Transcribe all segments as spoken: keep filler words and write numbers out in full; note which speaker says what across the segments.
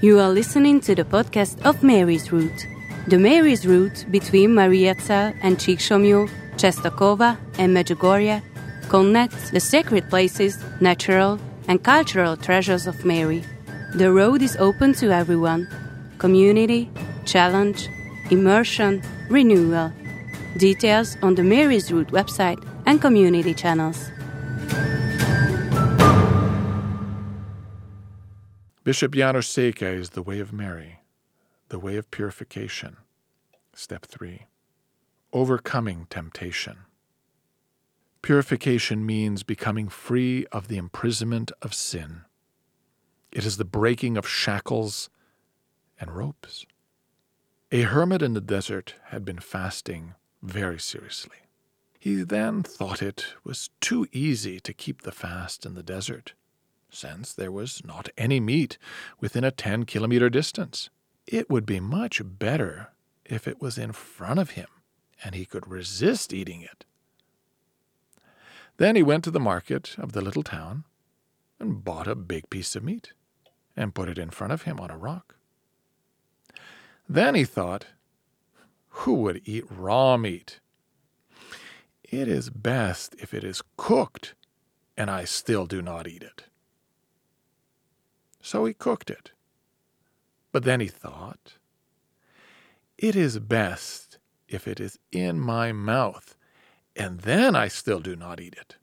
Speaker 1: You are listening to the podcast of Mary's Route. The Mary's Route between Mariazell and Csíksomlyó, Czestochowa and Medjugorje connects the sacred places, natural and cultural treasures of Mary. The road is open to everyone. Community, challenge, immersion, renewal. Details on the Mary's Route website and community channels.
Speaker 2: Bishop János Székely is the way of Mary, the way of purification. Step three, overcoming temptation. Purification means becoming free of the imprisonment of sin. It is the breaking of shackles and ropes. A hermit in the desert had been fasting very seriously. He then thought it was too easy to keep the fast in the desert, since there was not any meat within a ten-kilometer distance. It would be much better if it was in front of him, and he could resist eating it. Then he went to the market of the little town and bought a big piece of meat and put it in front of him on a rock. Then he thought, who would eat raw meat? It is best if it is cooked, and I still do not eat it. So he cooked it. But then he thought, it is best if it is in my mouth, and then I still do not eat it.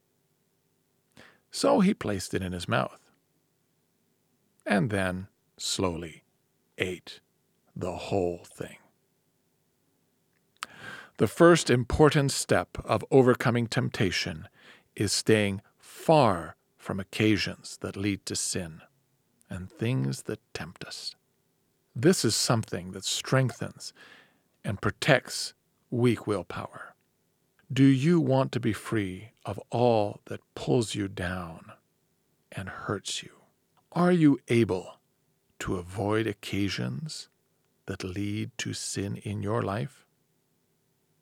Speaker 2: So he placed it in his mouth, and then slowly ate the whole thing. The first important step of overcoming temptation is staying far from occasions that lead to sin and things that tempt us. This is something that strengthens and protects weak willpower. Do you want to be free of all that pulls you down and hurts you? Are you able to avoid occasions that lead to sin in your life?